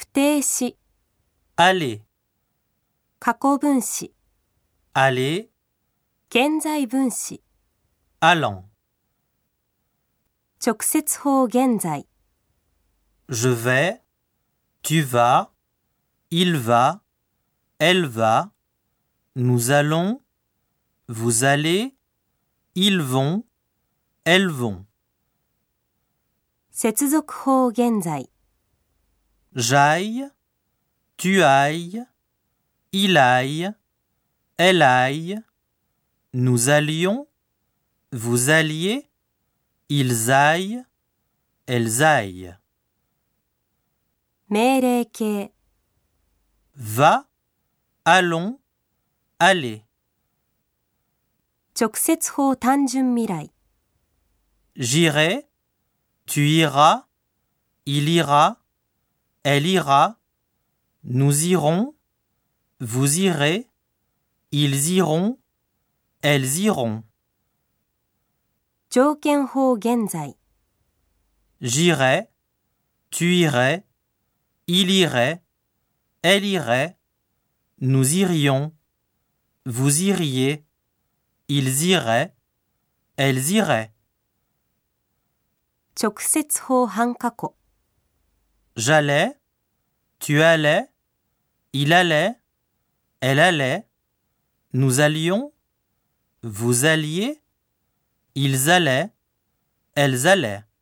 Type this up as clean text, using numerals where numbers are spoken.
定詞、 aller, 過去分詞、 aller, 現在分詞、 allant. 直接法現在、 Je vais, tu vas, il va, elle va, nous allons, vous allez, ils vont, elles vont. 接続法現在、 J'aille, tu ailles, il aille, elle aille, nous allions, vous alliez, ils aillent, elles aillent. 命令形、 Va, allons, allez. 直接法単純未来、 J'irai, tu iras, il ira, elle ira, nous irons, vous irez, ils iront, elles iront. 条件法現在、 J'irai, tu irais, il irait, elle irait, nous irions, vous iriez, ils iraient, elles iraient. 直接法半過去、 J'allais, tu allais, il allait, elle allait, nous allions, vous alliez, ils allaient, elles allaient.